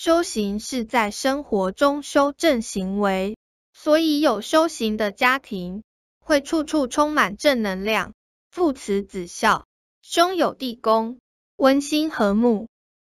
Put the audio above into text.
修行是在生活中修正行为，所以有修行的家庭会处处充满正能量，父慈子孝，兄友弟恭，温馨和睦。